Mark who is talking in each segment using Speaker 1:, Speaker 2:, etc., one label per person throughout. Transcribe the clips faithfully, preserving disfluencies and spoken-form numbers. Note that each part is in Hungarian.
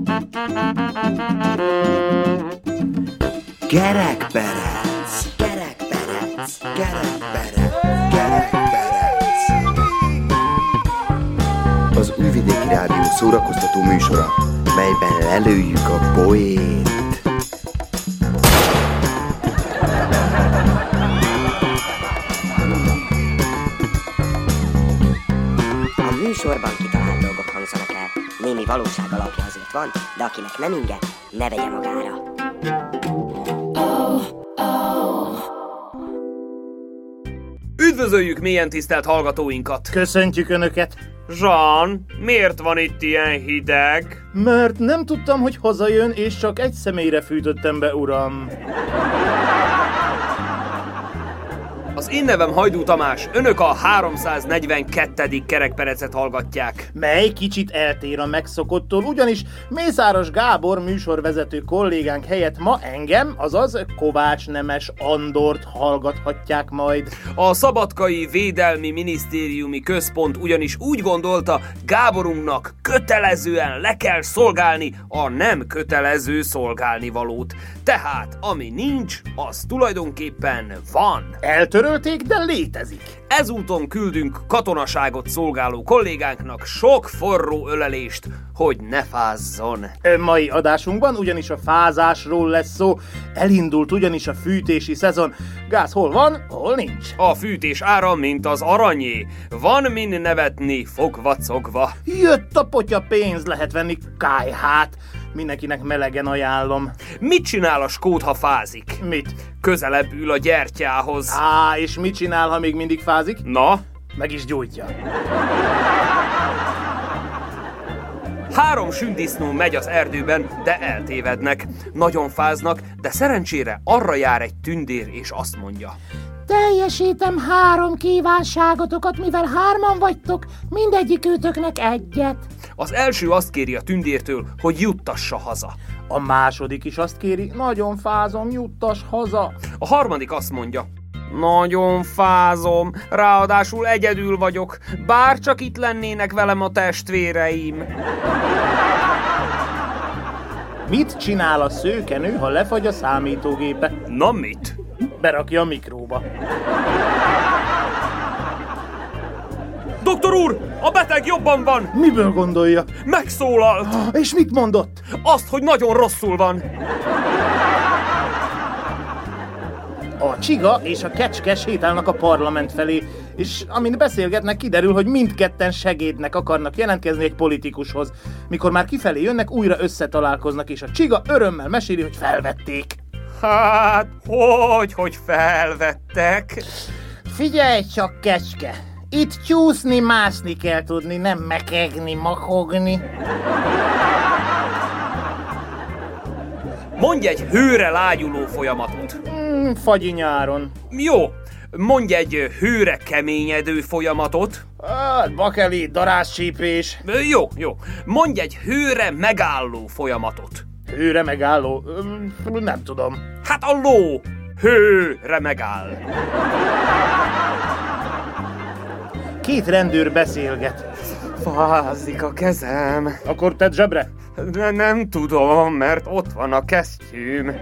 Speaker 1: Kerekperec, kerekperec, kerekperec, kerekperec. Az Újvidéki Rádió szórakoztató műsora, melyben lelőjük a poént.
Speaker 2: A műsorban kitalált dolgok hangzanak el. Némi valóság alapja azért van, de akinek nem inge, ne vegye magára.
Speaker 3: Üdvözöljük mélyen tisztelt hallgatóinkat!
Speaker 4: Köszöntjük Önöket!
Speaker 3: Jean, miért van itt ilyen hideg?
Speaker 4: Mert nem tudtam, hogy hazajön, és csak egy személyre fűtöttem be, uram.
Speaker 3: Az én nevem Hajdú Tamás, önök a háromszáznegyvenkettedik kerekperecet hallgatják.
Speaker 4: Mely kicsit eltér a megszokottól, ugyanis Mészáros Gábor műsorvezető kollégánk helyett ma engem, azaz Kovács Nemes Andort hallgathatják majd.
Speaker 3: A Szabadkai Védelmi Minisztériumi Központ ugyanis úgy gondolta, Gáborunknak kötelezően le kell szolgálni a nem kötelező szolgálnivalót. Tehát, ami nincs, az tulajdonképpen van.
Speaker 4: Eltörölték, de létezik.
Speaker 3: Ezúton küldünk katonaságot szolgáló kollégánknak sok forró ölelést, hogy ne fázzon.
Speaker 4: Mai adásunkban ugyanis a fázásról lesz szó. Elindult ugyanis a fűtési szezon. Gáz hol van, hol nincs.
Speaker 3: A fűtés ára, mint az aranyé. Van min nevetni, fogvacogva.
Speaker 4: Jött a potya pénz, lehet venni kályhát. Mindenkinek melegen ajánlom.
Speaker 3: Mit csinál a skót, ha fázik?
Speaker 4: Mit?
Speaker 3: Közelebb ül a gyertyához.
Speaker 4: Á, és mit csinál, ha még mindig fázik?
Speaker 3: Na?
Speaker 4: Meg is gyújtja.
Speaker 3: Három sündisznó megy az erdőben, de eltévednek. Nagyon fáznak, de szerencsére arra jár egy tündér, és azt mondja:
Speaker 5: teljesítem három kívánságotokat, mivel hárman vagytok, mindegyik őtöknek egyet.
Speaker 3: Az első azt kéri a tündértől, hogy juttassa haza.
Speaker 4: A második is azt kéri: nagyon fázom, juttass haza.
Speaker 3: A harmadik azt mondja: nagyon fázom, ráadásul egyedül vagyok, bár csak itt lennének velem a testvéreim.
Speaker 4: Mit csinál a szőkenő, ha lefagy a számítógépe?
Speaker 3: Na mit?
Speaker 4: Berakja a mikróba.
Speaker 3: Doktor úr, a beteg jobban van!
Speaker 4: Miből gondolja?
Speaker 3: Megszólalt!
Speaker 4: És mit mondott?
Speaker 3: Azt, hogy nagyon rosszul van.
Speaker 4: A csiga és a kecske sétálnak a parlament felé, és amin beszélgetnek, kiderül, hogy mindketten segédnek akarnak jelentkezni egy politikushoz. Mikor már kifelé jönnek, újra összetalálkoznak, és a csiga örömmel meséli, hogy felvették.
Speaker 3: Hát, hogy, hogy felvettek?
Speaker 4: Figyelj csak, kecske! Itt csúszni, mászni kell tudni, nem mekegni, makogni.
Speaker 3: Mondj egy hőre lágyuló folyamatot.
Speaker 4: Mm, fagyi nyáron.
Speaker 3: Jó, mondj egy hőre keményedő folyamatot.
Speaker 4: Hát, bakeli, darázscsípés.
Speaker 3: Jó, jó. Mondj egy hőre megálló folyamatot.
Speaker 4: Hőre megálló? Nem tudom.
Speaker 3: Hát a ló hőre megáll.
Speaker 4: Két rendőr beszélget.
Speaker 3: Fázik a kezem.
Speaker 4: Akkor tedd zsebre.
Speaker 3: De nem tudom, mert ott van a kesztyűm.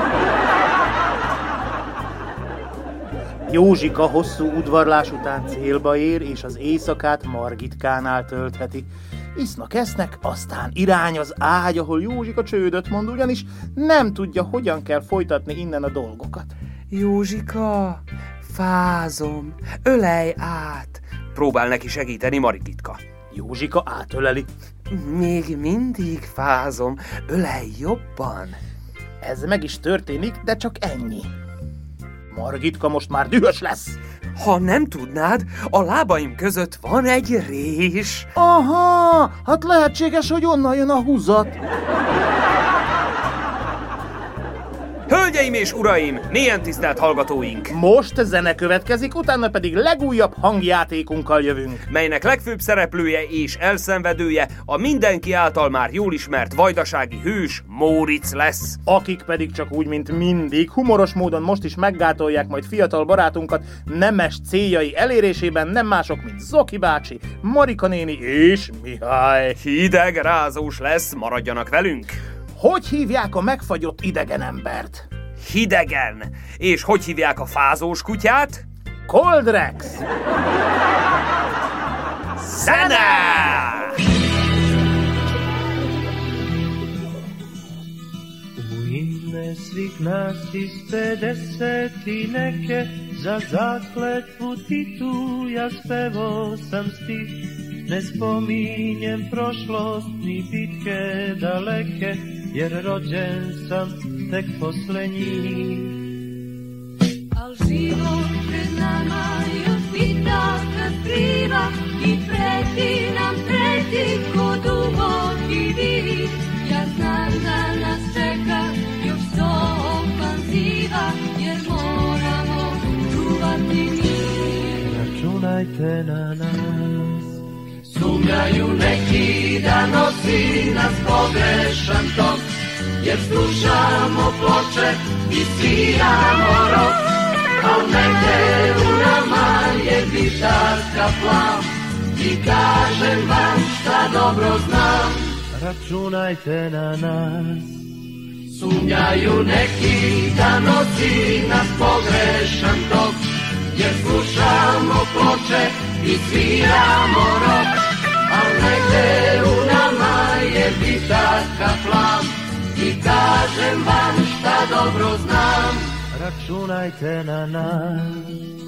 Speaker 4: Józsika hosszú udvarlás után célba ér, és az éjszakát Margitkánál töltheti. Isznak, esznek, aztán irány az ágy, ahol Józsika csődöt mond, ugyanis nem tudja, hogyan kell folytatni innen a dolgokat.
Speaker 3: Józsika, fázom, ölelj át. Próbál neki segíteni Margitka.
Speaker 4: Józsika átöleli.
Speaker 3: Még mindig fázom, ölelj jobban.
Speaker 4: Ez meg is történik, de csak ennyi. Margitka most már dühös lesz.
Speaker 3: Ha nem tudnád, a lábaim között van egy rés.
Speaker 4: Aha, hát lehetséges, hogy onnan jön a húzat.
Speaker 3: Hölgyeim és uraim, mélyen tisztelt hallgatóink!
Speaker 4: Most zene következik, utána pedig legújabb hangjátékunkkal jövünk,
Speaker 3: melynek legfőbb szereplője és elszenvedője a mindenki által már jól ismert vajdasági hős Móricz lesz.
Speaker 4: Akik pedig csak úgy, mint mindig, humoros módon most is meggátolják majd fiatal barátunkat nemes céljai elérésében, nem mások, mint Zoki bácsi, Marika néni és Mihály.
Speaker 3: Hideg, rázós lesz, maradjanak velünk!
Speaker 4: Hogy hívják a megfagyott idegen embert?
Speaker 3: Hidegen. És hogy hívják a fázós kutyát?
Speaker 4: Coldrex.
Speaker 3: Zene!
Speaker 6: U ime svih nas iz pedeset i neke, za zakletvu Titu ja spevao sam stih. Ne spominjem prošlost ni bitke daleke, jer rođen sam tek posle njih.
Speaker 7: Al život pred nama još bitaka skriva i preti nam, preti ko duboki vid. Ja znam da nas čeka još sto ofanziva, jer moramo čuvati mir.
Speaker 6: Računajte na nas.
Speaker 8: Sumnjaju neki da nosi nas pogrešan tok, jer slušamo ploče i sviramo rok, al negde u nama je bitarska plav i kažem vam šta dobro znam.
Speaker 6: Računajte na nas.
Speaker 8: Sumnjaju neki da nosi nas pogrešan tok, jer slušamo ploče i sviramo rok, al negde u nama je bitarka plav i kažem vam šta dobro znam.
Speaker 6: Računajte na nas.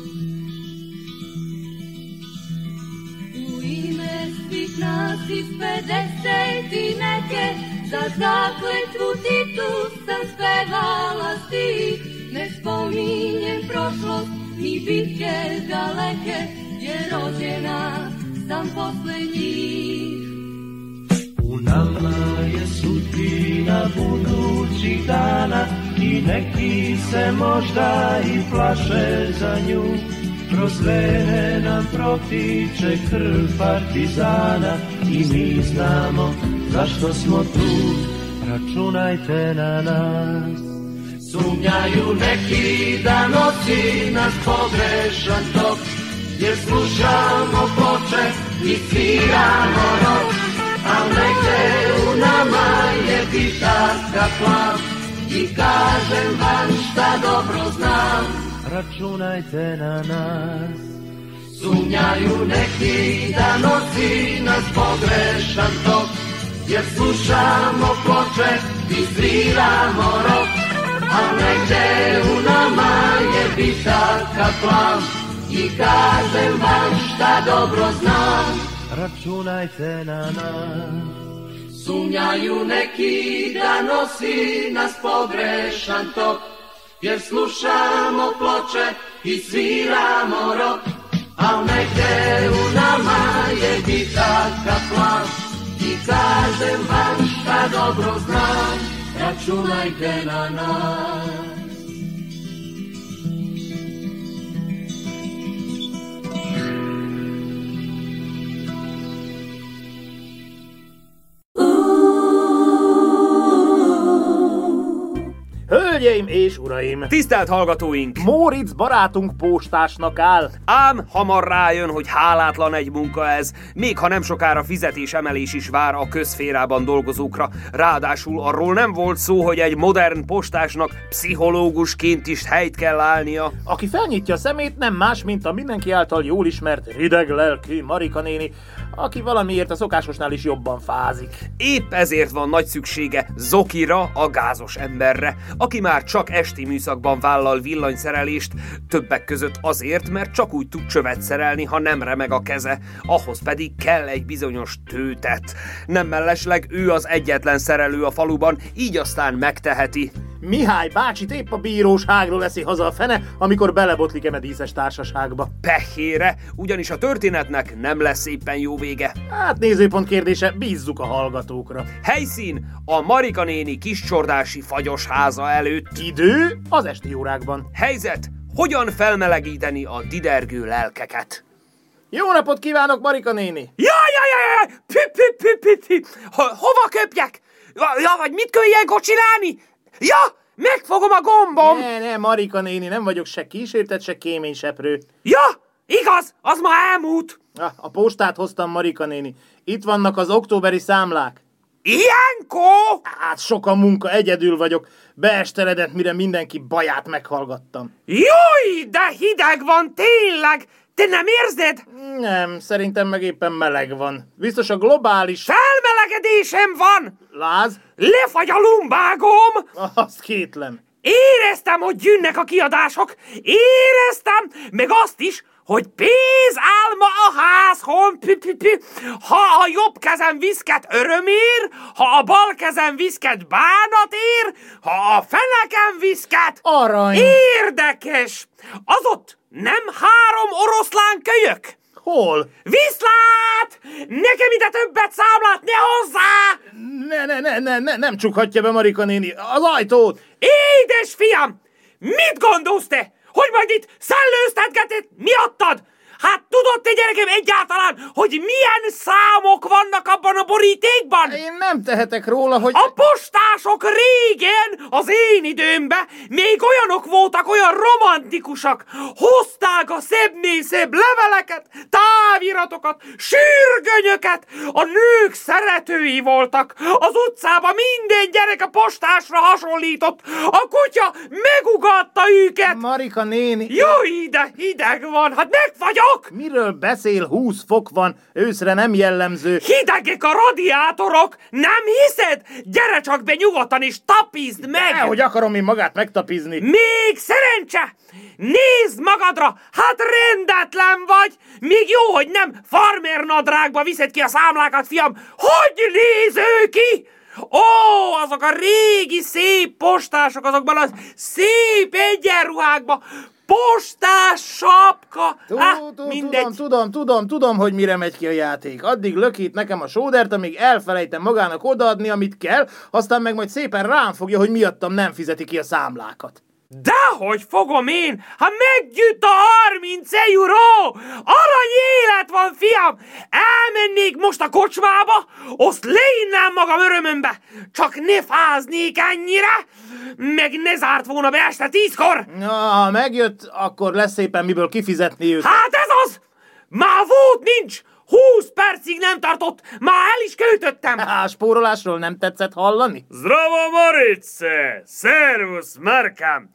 Speaker 7: U ime svih nas iz pedeset i neke, za zakletvu Titu sam spevala stih. Ne spominjem prošlost ni bitke daleke, jer rođena sam posle njih.
Speaker 6: U nama je sudbina budućih dana i neki se možda i plaše za nju. Kroz vene nam protiče krv partizana i mi znamo zašto smo tu. Računajte na nas.
Speaker 8: Sumnjaju neki da nosi nas pogrešan tok, jer slušamo ploče i sviramo rok, al negde u nama je bitarska plav i kažem vam šta dobro znam.
Speaker 6: Računajte na nas.
Speaker 8: Sumnjaju neki da nosi nas pogrešan tok, jer slušamo ploče i sviramo rok, al negde u nama je bitarka plav i kažem vam šta dobro znam.
Speaker 6: Računajte na nas.
Speaker 8: Sumnjaju neki da nosi nas pogrešan tok, jer slušamo ploče i sviramo rok, al negde u nama je bitarka plav i kažem vam šta dobro znam. Računajte na nas.
Speaker 4: Hölgyeim és uraim!
Speaker 3: Tisztelt hallgatóink!
Speaker 4: Móricz barátunk postásnak áll.
Speaker 3: Ám hamar rájön, hogy hálátlan egy munka ez, még ha nem sokára fizetésemelés is vár a közszférában dolgozókra. Ráadásul arról nem volt szó, hogy egy modern postásnak pszichológusként is helyt kell állnia.
Speaker 4: Aki felnyitja a szemét, nem más, mint a mindenki által jól ismert hideg lelkű Marika néni, aki valamiért a szokásosnál is jobban fázik.
Speaker 3: Épp ezért van nagy szüksége Zokira, a gázos emberre, aki már csak esti műszakban vállal villanyszerelést, többek között azért, mert csak úgy tud csövet szerelni, ha nem remeg a keze, ahhoz pedig kell egy bizonyos tőtet. Nem mellesleg ő az egyetlen szerelő a faluban, így aztán megteheti.
Speaker 4: Mihály bácsit épp a bíróságról eszi haza a fene, amikor belebotlik eme díszes társaságba.
Speaker 3: Pehére, ugyanis a történetnek nem lesz éppen jó vége.
Speaker 4: Hát nézőpont kérdése, bízzuk a hallgatókra.
Speaker 3: Helyszín a Marika néni kiscsordási fagyos háza előtt.
Speaker 4: Idő az esti órákban.
Speaker 3: Helyzet, hogyan felmelegíteni a didergő lelkeket.
Speaker 4: Jó napot kívánok, Marika néni!
Speaker 3: Jaj, jaj, jaj, pü, pü, pü, pü, pü. Ho- hova köpjek? Ja, vagy mit kell ilyenkor csinálni? Ja, megfogom a gombom!
Speaker 4: Ne, ne, Marika néni, nem vagyok se kísértett, se kéményseprő.
Speaker 3: Ja, igaz, az ma elmúlt.
Speaker 4: Ah, a postát hoztam, Marika néni. Itt vannak az októberi számlák.
Speaker 3: Ilyenkor?
Speaker 4: Hát sok a munka, egyedül vagyok. Beesteledett, mire mindenki baját meghallgattam.
Speaker 3: Jaj, de hideg van, tényleg! Te nem érzed?
Speaker 4: Nem, szerintem meg éppen meleg van. Biztos a globális...
Speaker 3: Felmelegedésem van!
Speaker 4: Láz?
Speaker 3: Lefagy a lumbágom!
Speaker 4: Azt kétlem.
Speaker 3: Éreztem, hogy jönnek a kiadások. Éreztem, meg azt is, hogy pénz álma a házhon. Pü, pü, pü. Ha a jobb kezem viszket örömér, ha a bal kezem viszket bánatér, ha a fenekem viszket...
Speaker 4: Arany.
Speaker 3: Érdekes! Az ott nem három oroszlán kölyök?
Speaker 4: Hol?
Speaker 3: Viszlát! Nekem ide többet számlát ne hozzá!
Speaker 4: Ne, ne, ne, ne, ne, nem csukhatja be, Marika néni. Az ajtót!
Speaker 3: Édes fiam! Mit gondolsz te? Hogy majd itt szellőztetgeted miattad? Hát tudod te, gyerekem, egyáltalán, hogy milyen számok vannak abban a borítékban?
Speaker 4: Én nem tehetek róla, hogy...
Speaker 3: A postások régen, az én időmben még olyanok voltak, olyan romantikusak. Hozták a szebbnél szebb leveleket, táviratokat, sürgönyöket. A nők szeretői voltak. Az utcában minden gyerek a postásra hasonlított. A kutya megugatta őket.
Speaker 4: Marika néni...
Speaker 3: Jó, ide hideg van, hát megfagyok!
Speaker 4: Miről beszél? húsz fok van, őszre nem jellemző.
Speaker 3: Hidegek a radiátorok, nem hiszed? Gyere csak be nyugodtan és tapizd meg!
Speaker 4: Nehogy akarom én magát megtapizni.
Speaker 3: Még szerencse! Nézd magadra, hát rendetlen vagy! Még jó, hogy nem farmer nadrágba viszed ki a számlákat, fiam! Hogy néz ő ki? Ó, azok a régi szép postások, azokban a szép egyenruhákban, postás sapka! Hát, mindegy.
Speaker 4: Tudom, tudom, tudom, tudom, hogy mire megy ki a játék. Addig lökít nekem a sódert, amíg elfelejtem magának odaadni, amit kell, aztán meg majd szépen rám fogja, hogy miattam nem fizeti ki a számlákat.
Speaker 3: Dehogy fogom én, ha meggyűjt a harminc euró! Arany élet van, fiam! Elmennék most a kocsmába, azt leinnám magam örömömbe, csak ne fáznék ennyire, meg ne zárt volna be este tízkor!
Speaker 4: Na, ha megjött, akkor lesz szépen miből kifizetni őt.
Speaker 3: Hát ez az! Már volt nincs! Húsz percig nem tartott, már el is költöttem!
Speaker 4: Há, spórolásról nem tetszett hallani?
Speaker 3: Zdravo, Morice! Szervusz, Markám!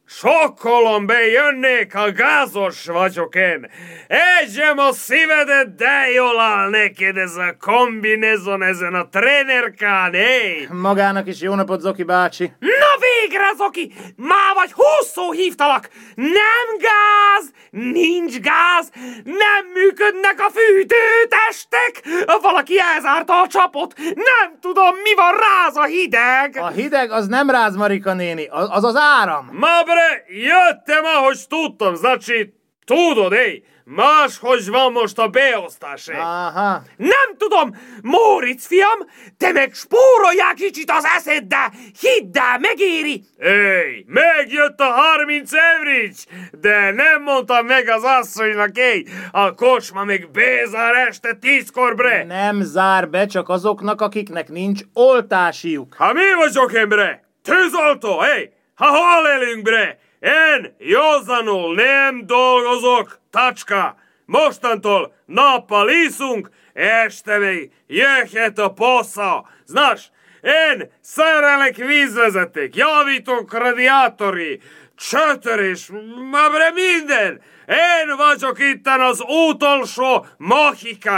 Speaker 3: Sokkolom bejönnék, ha gázos vagyok én. Egyem a szívedet, de jól áll neked ez a kombinezon ezen a trénerkán, hé!
Speaker 4: Magának is jó napot, Zoki bácsi.
Speaker 3: Na végre, Zoki! Már vagy húszszor hívtalak! Nem gáz! Nincs gáz! Nem működnek a fűtőtestek! Valaki elzárta a csapot! Nem tudom, mi van, ráz a hideg!
Speaker 4: A hideg az nem ráz, Marika néni, az az, az áram.
Speaker 3: Ma bre, jöttem, ahogy tudtam, znači, tudod, ej, máshogy van most a beosztás, ej.
Speaker 4: Aha.
Speaker 3: Nem tudom, Móricz fiam, te meg spóroljál kicsit az eszeddel, hidd el, megéri. Ej, megjött a harminc evrics, de nem mondtam meg az asszonynak, ej, a kocsma még bezár este tízkor, bre.
Speaker 4: Nem zár be, csak azoknak, akiknek nincs oltásiuk.
Speaker 3: Ha mi vagyok én, bre? Tűzoltó, ej, ha hol élünk, bre? Én józanul nem dolgozok, tacska. Mostantól nappal iszunk, este még jöhet a posza. Znaš, én szerelek vízvezeték, javítok radiátori, csötörés, mabre minden. Én vagyok itten az utolsó mohikán.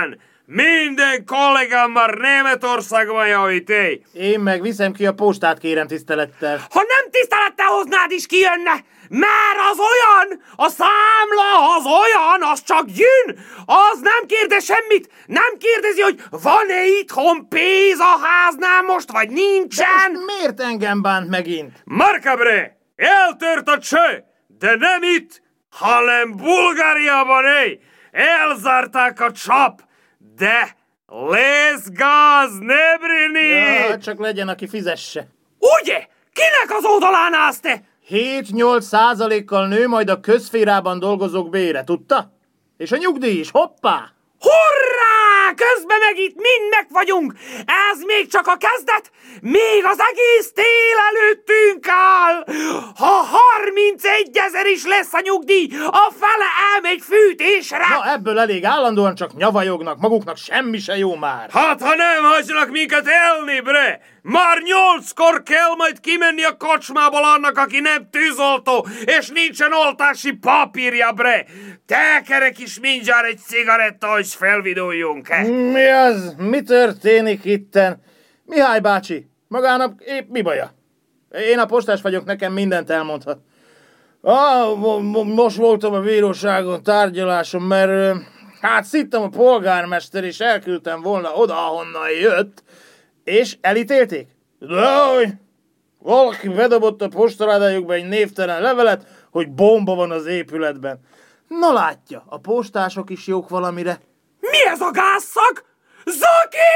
Speaker 3: Minden kollégám már Németországban javít, éj!
Speaker 4: Én meg viszem ki a postát, kérem tisztelettel.
Speaker 3: Ha nem tisztelettel hoznád is kijönne, mert az olyan, a számla az olyan, az csak jön, az nem kérdez semmit, nem kérdezi, hogy van-e itthon pénz a háznál most, vagy nincsen.
Speaker 4: De most miért engem bánt megint?
Speaker 3: Markabre, eltört a cső, de nem itt, hanem Bulgáriában, éj! Elzárták a csap, de lesz gáz, ne brini!
Speaker 4: Ja, csak legyen, aki fizesse.
Speaker 3: Ugye? Kinek az oldalán állsz te?
Speaker 4: hét-nyolc százalékkal nő majd a közszférában dolgozók bére, tudta? És a nyugdíj is, hoppá!
Speaker 3: Hurrá! Közben meg itt mind meg vagyunk! Ez még csak a kezdet! Még az egész tél előttünk áll! Ha harmincegy ezer is lesz a nyugdíj, a fele elmegy fűtésre!
Speaker 4: Na, ebből elég, állandóan csak nyavajognak, maguknak semmi se jó már.
Speaker 3: Hát, ha nem hagyjanak minket elni, bre! Már nyolckor kell majd kimenni a kocsmából annak, aki nem tűzoltó, és nincsen oltási papírja, bre! Tekerek is mindjárt egy cigaretta, hogy felviduljunk-e?
Speaker 4: Mi az? Mi történik itten? Mihály bácsi, magának épp mi baja? Én a postás vagyok, nekem mindent elmondhat. Ah, most voltam a bíróságon tárgyaláson, mert hát szittem a polgármester, és elküldtem volna oda, ahonnan jött, és elítélték? Dehogy! Valaki bedobott a postaládájukba egy névtelen levelet, hogy bomba van az épületben. Na látja, a postások is jók valamire.
Speaker 3: Mi ez a gázszag? Zaki!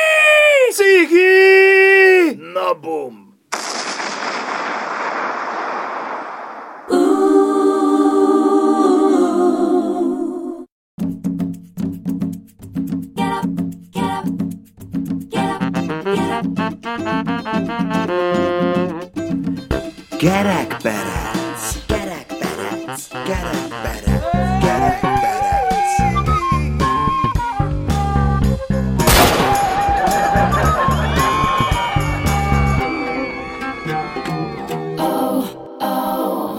Speaker 4: Cigi! Na bum!
Speaker 1: Gerekperec, gerekperec, gerekperec, gerekperec.
Speaker 7: Oh, oh.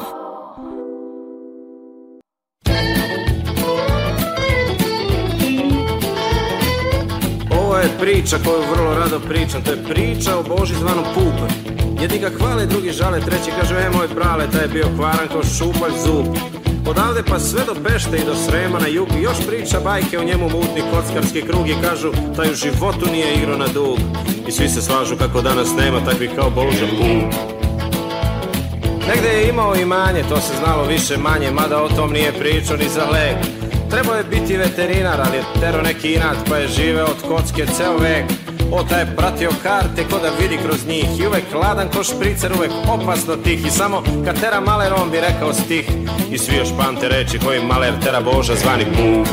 Speaker 9: Ovo je priča koju vrlo rado pričam, to je priča o Boži zvanom Pupa. Jedni ga hvale, drugi žale, treći kaže, e moj brale, taj je bio kvaran kao šupalj zub. Odavde pa sve do Pešte i do Srema na jug, još priča bajke o njemu mutni kockarski krug i kažu, taj u životu nije igrao na dug. I svi se slažu kako danas nema takvih kao Boža Pup. Negde je imao imanje, to se znalo više manje, mada o tom nije pričao ni za lek. Trebao je biti veterinar, ali je tero neki inat, pa je živeo od kocke ceo vek. Ota je pratio karte ko da vidi kroz njih i uvek hladan ko špricer, uvek opasno tih. I samo kad tera maler on bi rekao stih. I svi još pamte reči koji maler tera Boža zvani Pup.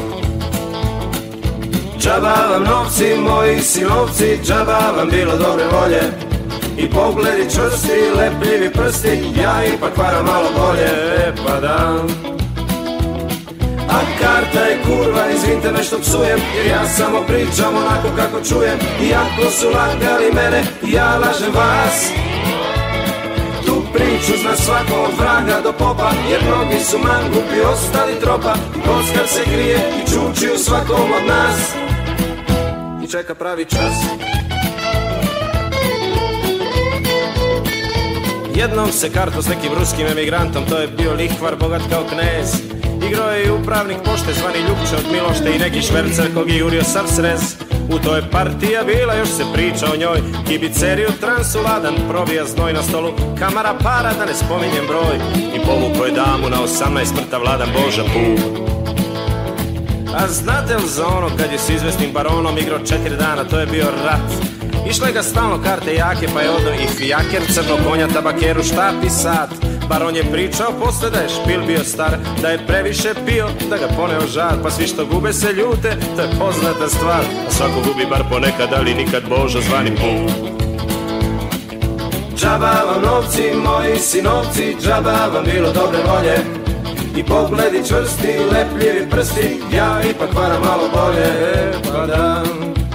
Speaker 9: Džaba vam novci, moji sinovci, džaba vam bilo dobre volje. I pogledi čvrsti, lepljivi prsti, ja ipak varam malo bolje, e pa da. A karta je kurva, izvinite me što psujem, jer ja samo pričam onako kako čujem. Iako su lagali mene, ja lažem vas. Tu priču zna svako od vraga do popa, jer mnogi su mangupi, ostali tropa. Kockar se krije i čuči u svakom od nas i čeka pravi čas. Jednom se karto s nekim ruskim emigrantom, to je bio lihvar bogat kao knez. Igrao je i upravnik pošte zvani Ljupče od Milošte i neki švercer kog je jurio sav srez. U toj partija bila, još se priča o njoj, kibiceriju transuladan, probija znoj na stolu, kamara para da ne spominjem broj. I povuko je damu na osamnaest mrtav vladan Boža Pup. A znate li za ono kad je s izvesnim baronom igrao četiri dana, to je bio rat. Išle ga stalno karte jake, pa je odno i fijaker, crno konja, tabakeru, štap i sat. Baron je pričao posle da je špil bio star, da je previše pio, da ga poneo žar. Pa svi što gube se ljute, to je poznata stvar. A svako gubi bar ponekad, ali nikad Boža zvani Pup. Džaba vam novci, moji sinovci, džaba vam bilo dobre volje. I pogledi čvrsti, lepljivi prsti, ja ipak varam malo bolje, e pa da.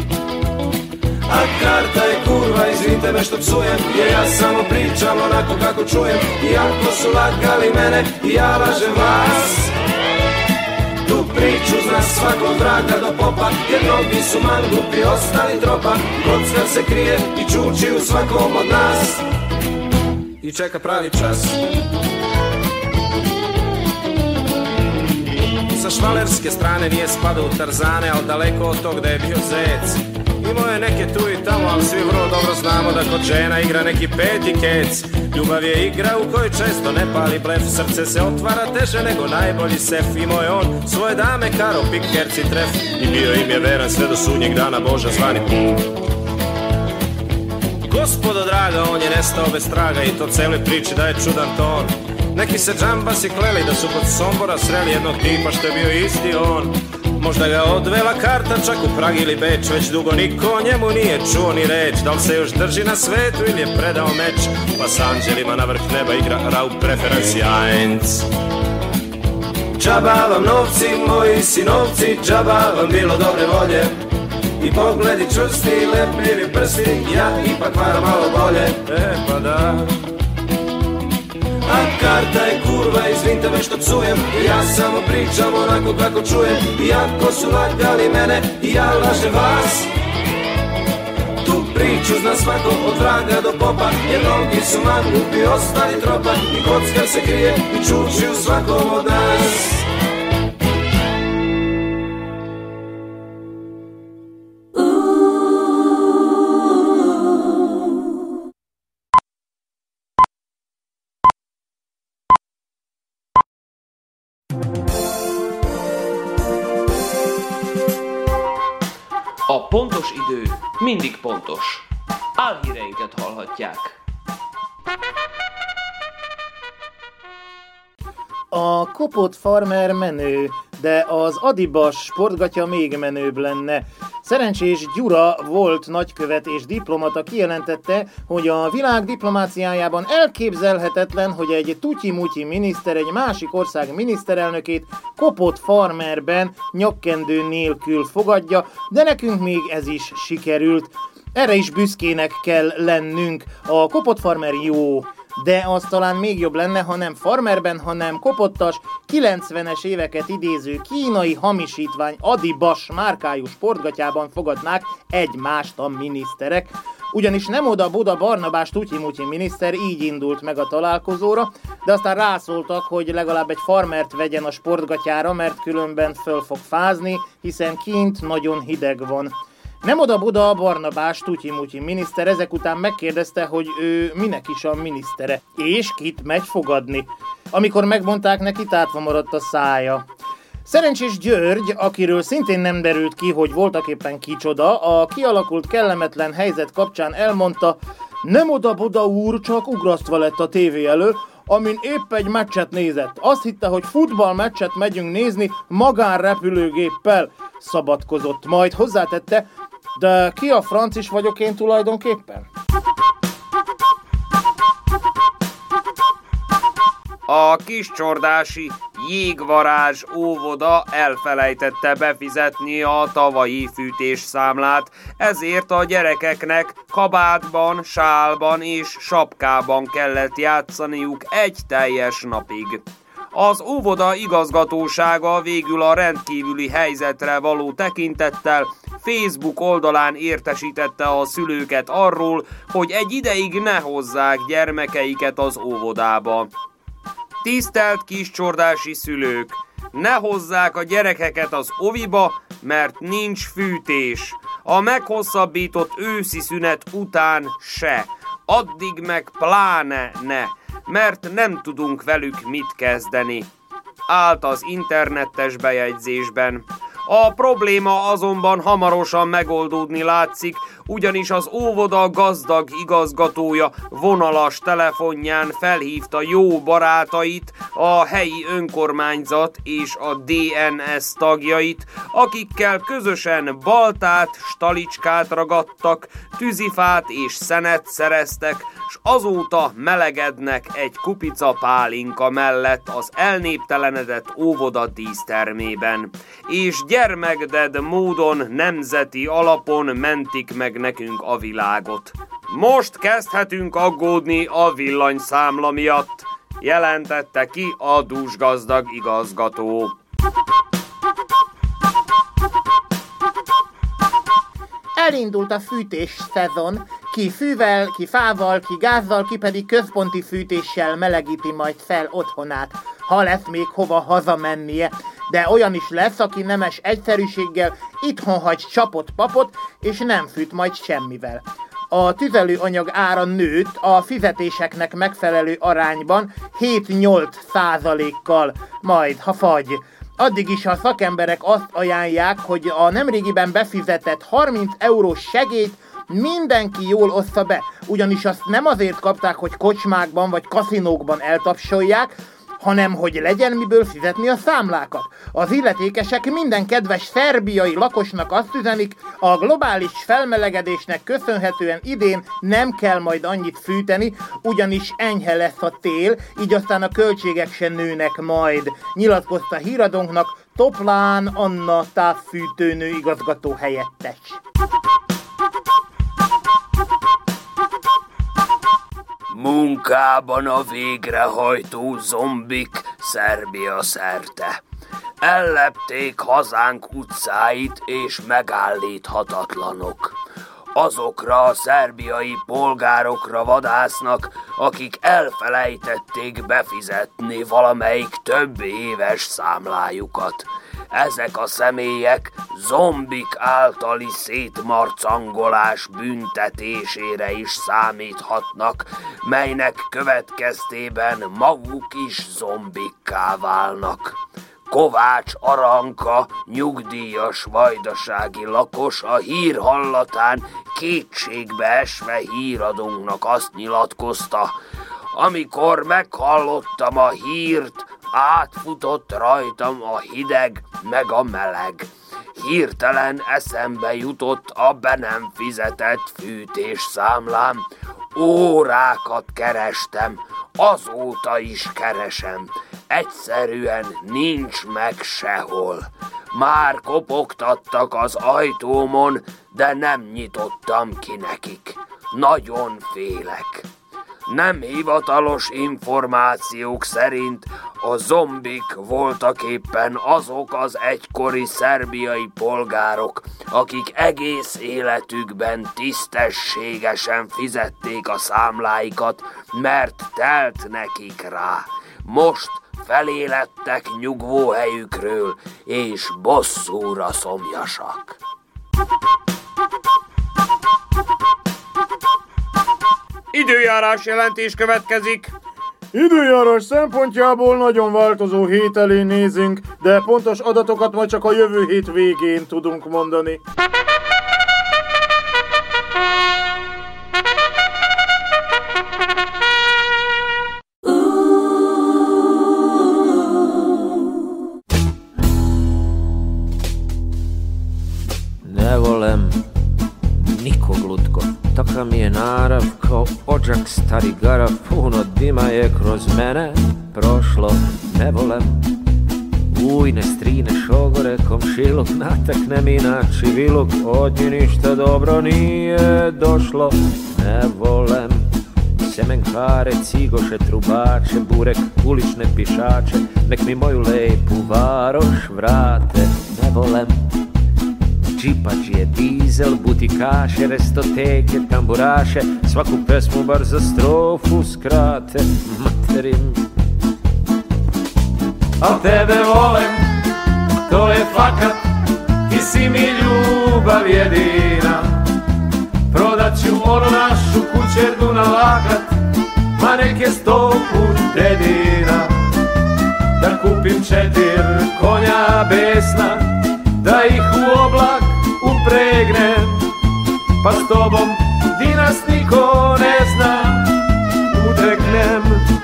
Speaker 9: A karta je kurva, izvinite me što psujem, jer ja samo pričam onako kako čujem. Iako su lagali mene, ja lažem vas. Tu priču zna svako od vraga do popa, jer mnogi su mangupi ostali tropa. Kockar se krije i čuči u svakom od nas i čeka pravi čas. Sa švalerske strane nije spadao u Tarzane, al daleko od tog da je bio zec. Imao je neke tu i tamo, ali svi vrlo dobro znamo da kod žena igra neki peti kec. Ljubav je igra u kojoj često ne pali blef, srce se otvara teže nego najbolji sef. Imao je on svoje dame, karo, pik, herci, tref, i bio im je veran sve do sudnjeg dana, Boža zvani pum. Gospodo draga, on je nestao bez traga i to cele priči da je čudan ton. Neki se džambasi kleli da su kod Sombora sreli jednog tipa što je bio isti on. Možda ga odvela karta čak u Prag ili Beč, već dugo niko o njemu nije čuo ni reč. Da li se još drži na svetu ili je predao meč, pa s anđelima na vrh neba igra Raub preferenci eins. Džaba vam novci, moji sinovci, džaba vam bilo dobre volje i pogledi čvrsti, lepljivi prsti, ja ipak varam malo bolje. E pa da. A karta je kurva, izvinite me što psujem, ja samo pričam onako kako čujem. Iako su lagali mene, i ja lažem vas. Tu priču zna svako od vraga do popa, jer mnogi su mangupi ostali tropa. I kockar se krije i čuči u svakom od nas.
Speaker 3: A pontos idő mindig pontos. Álhíreinket hallhatják.
Speaker 4: A kopott farmer menő, de az Adibas sportgatya még menőbb lenne. Szerencsés Gyura volt nagykövet és diplomata kijelentette, hogy a világ diplomáciájában elképzelhetetlen, hogy egy tutyi-mutyi miniszter egy másik ország miniszterelnökét kopott farmerben, nyakkendő nélkül fogadja, de nekünk még ez is sikerült. Erre is büszkének kell lennünk. A kopott farmer jó, de az talán még jobb lenne, ha nem farmerben, hanem kopottas, kilencvenes éveket idéző kínai hamisítvány Adibas márkájú sportgatyában fogadnák egymást a miniszterek. Ugyanis nem oda-boda Barnabás tutyi-mutyi miniszter így indult meg a találkozóra, de aztán rászóltak, hogy legalább egy farmert vegyen a sportgatyára, mert különben föl fog fázni, hiszen kint nagyon hideg van. Nem oda-boda Barnabás tutyi-mutyi miniszter ezek után megkérdezte, hogy ő minek is a minisztere, és kit megy fogadni. Amikor megmondták neki, tátva maradt a szája. Szerencsés György, akiről szintén nem derült ki, hogy voltaképpen kicsoda, a kialakult kellemetlen helyzet kapcsán elmondta, nem oda-boda úr, csak ugrasztva lett a tévé elől, amin épp egy meccset nézett. Azt hitte, hogy futballmeccset megyünk nézni magánrepülőgéppel. Szabadkozott, majd hozzátette, de ki a franc is vagyok én tulajdonképpen?
Speaker 3: A Kiscsordási Jégvarázs óvoda elfelejtette befizetni a tavalyi fűtésszámlát, ezért a gyerekeknek kabátban, sálban és sapkában kellett játszaniuk egy teljes napig. Az óvoda igazgatósága végül a rendkívüli helyzetre való tekintettel Facebook oldalán értesítette a szülőket arról, hogy egy ideig ne hozzák gyermekeiket az óvodába. Tisztelt kiscsordási szülők, ne hozzák a gyerekeket az oviba, mert nincs fűtés. A meghosszabbított őszi szünet után se, addig meg pláne ne, mert nem tudunk velük mit kezdeni. Állt az internetes bejegyzésben. A probléma azonban hamarosan megoldódni látszik, ugyanis az óvoda gazdag igazgatója vonalas telefonján felhívta jó barátait, a helyi önkormányzat és a dé en es tagjait, akikkel közösen baltát, stalicskát ragadtak, tűzifát és szenet szereztek, s azóta melegednek egy kupica pálinka mellett az elnéptelenedett óvoda dísztermében, és gyermekded módon nemzeti alapon mentik meg nekünk a világot. Most kezdhetünk aggódni a villanyszámla miatt, jelentette ki a dúsgazdag igazgató.
Speaker 4: elindult a fűtés szezon, ki fűvel, ki fával, ki gázzal, ki pedig központi fűtéssel melegíti majd fel otthonát, ha lesz még hova hazamennie. De olyan is lesz, aki nemes egyszerűséggel itthon hagy csapott papot, és nem fűt majd semmivel. A tüzelőanyag ára nőtt a fizetéseknek megfelelő arányban hét-nyolc százalékkal, majd ha fagy. Addig is a szakemberek azt ajánlják, hogy a nemrégiben befizetett harminc eurós segélyt mindenki jól ossza be, ugyanis azt nem azért kapták, hogy kocsmákban vagy kaszinókban eltapsolják, hanem hogy legyen miből fizetni a számlákat. Az illetékesek minden kedves szerbiai lakosnak azt üzenik, a globális felmelegedésnek köszönhetően idén nem kell majd annyit fűteni, ugyanis enyhe lesz a tél, így aztán a költségek se nőnek majd, nyilatkozta híradónknak Toplán Anna távfűtőnő igazgató helyettes.
Speaker 3: Munkában a végrehajtó zombik Szerbia szerte. Ellepték hazánk utcáit és megállíthatatlanok. Azokra a szerbiai polgárokra vadásznak, akik elfelejtették befizetni valamelyik több éves számlájukat. Ezek a személyek zombik általi szétmarcangolás büntetésére is számíthatnak, melynek következtében maguk is zombikká válnak. Kovács Aranka, nyugdíjas vajdasági lakos a hír hallatán kétségbe esve híradónknak azt nyilatkozta: amikor meghallottam a hírt, átfutott rajtam a hideg meg a meleg. Hirtelen eszembe jutott a be nem fizetett fűtésszámlám. Órákat kerestem, azóta is keresem. Egyszerűen nincs meg sehol. Már kopogtattak az ajtómon, de nem nyitottam ki nekik. Nagyon félek. Nem hivatalos információk szerint a zombik voltaképpen azok az egykori szerbiai polgárok, akik egész életükben tisztességesen fizették a számláikat, mert telt nekik rá. Most felélettek nyugvóhelyükről, és bosszúra szomjasak. Időjárás jelentés következik.
Speaker 10: Időjárás szempontjából nagyon változó hét elé nézünk, de pontos adatokat majd csak a jövő hét végén tudunk mondani.
Speaker 9: Ne volem nikog lutko. Takav mi je narav kao odžak stari garav. Puno dima je kroz mene prošlo. Ne volem ujne, strine, šogore, komšiluk. Natakne mi na čiviluk, od nje ništa dobro nije došlo. Ne volem semenkare, cigoše, trubače, burek, ulične pišače. Nek mi moju lepu varoš vrate. Ne volem džipađije, dizel, butikaše, restoteke, tamburaše, svaku pesmu bar za strofu skrate. Materim. Al tebe volem, to je fakat, ti si mi ljubav jedina. Prodat ću onu našu kućerdu na lakat, ma nek je sto put dedina. Da kupim četir konja besna, da ih u oblak upregnem, pa s tobom di nas niko ne zna uteknem.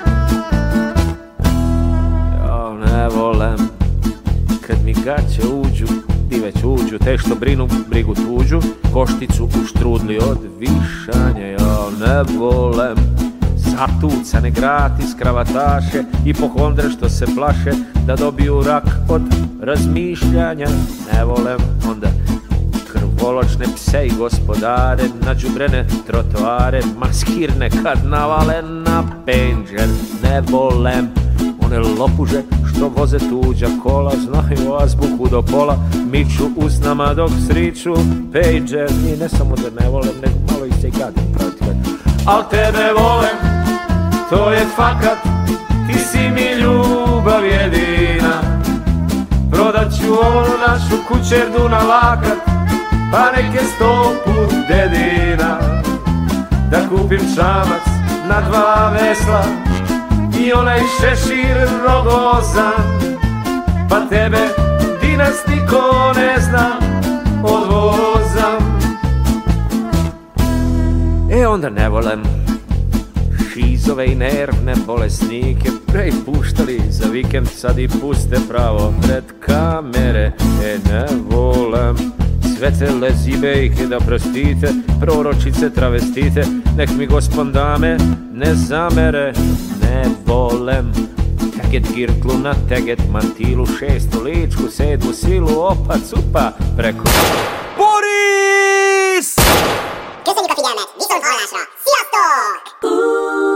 Speaker 9: Ja ne volem kad mi gaće uđu, ti već uđu, te što brinu brigu tuđu, košticu u štrudli od višanja. Ja ne volem zatucane gratis kravataše i pohondre što se plaše da dobiju rak od razmišljanja. Ne volem onda krvoločne pse i gospodare, nađubrene trotoare, maskirne karnavale na penđer. Ne volem
Speaker 11: One lopuže što voze tuđa kola, znaju azbuku do pola, miču usnama dok sriču pager. I ne samo da ne volem, nego malo i se gadim protiv. Al tebe volem, to je fakat, ti si mi ljubav jedina. Prodat ću onu našu kućerdu na lakat, pa neke sto put dedina. Da kupim čamac na dva vesla i onaj šešir rogozan, pa tebe dinas niko ne zna, odvozam. E onda ne volem šizove i nervne bolesnike, prej puštali za vikend, sad i puste pravo pred kamere. E ne volem sve te lezibejke, da prostite, proročice, travestite, nek mi gospon dame ne zamere. Ne volem teget girklu na teget mantilu, šestu ličku, sedmu silu, opa cupa preko Boris!
Speaker 12: Köszönjük a figyelmet, viszont hallásra! Sziasztok!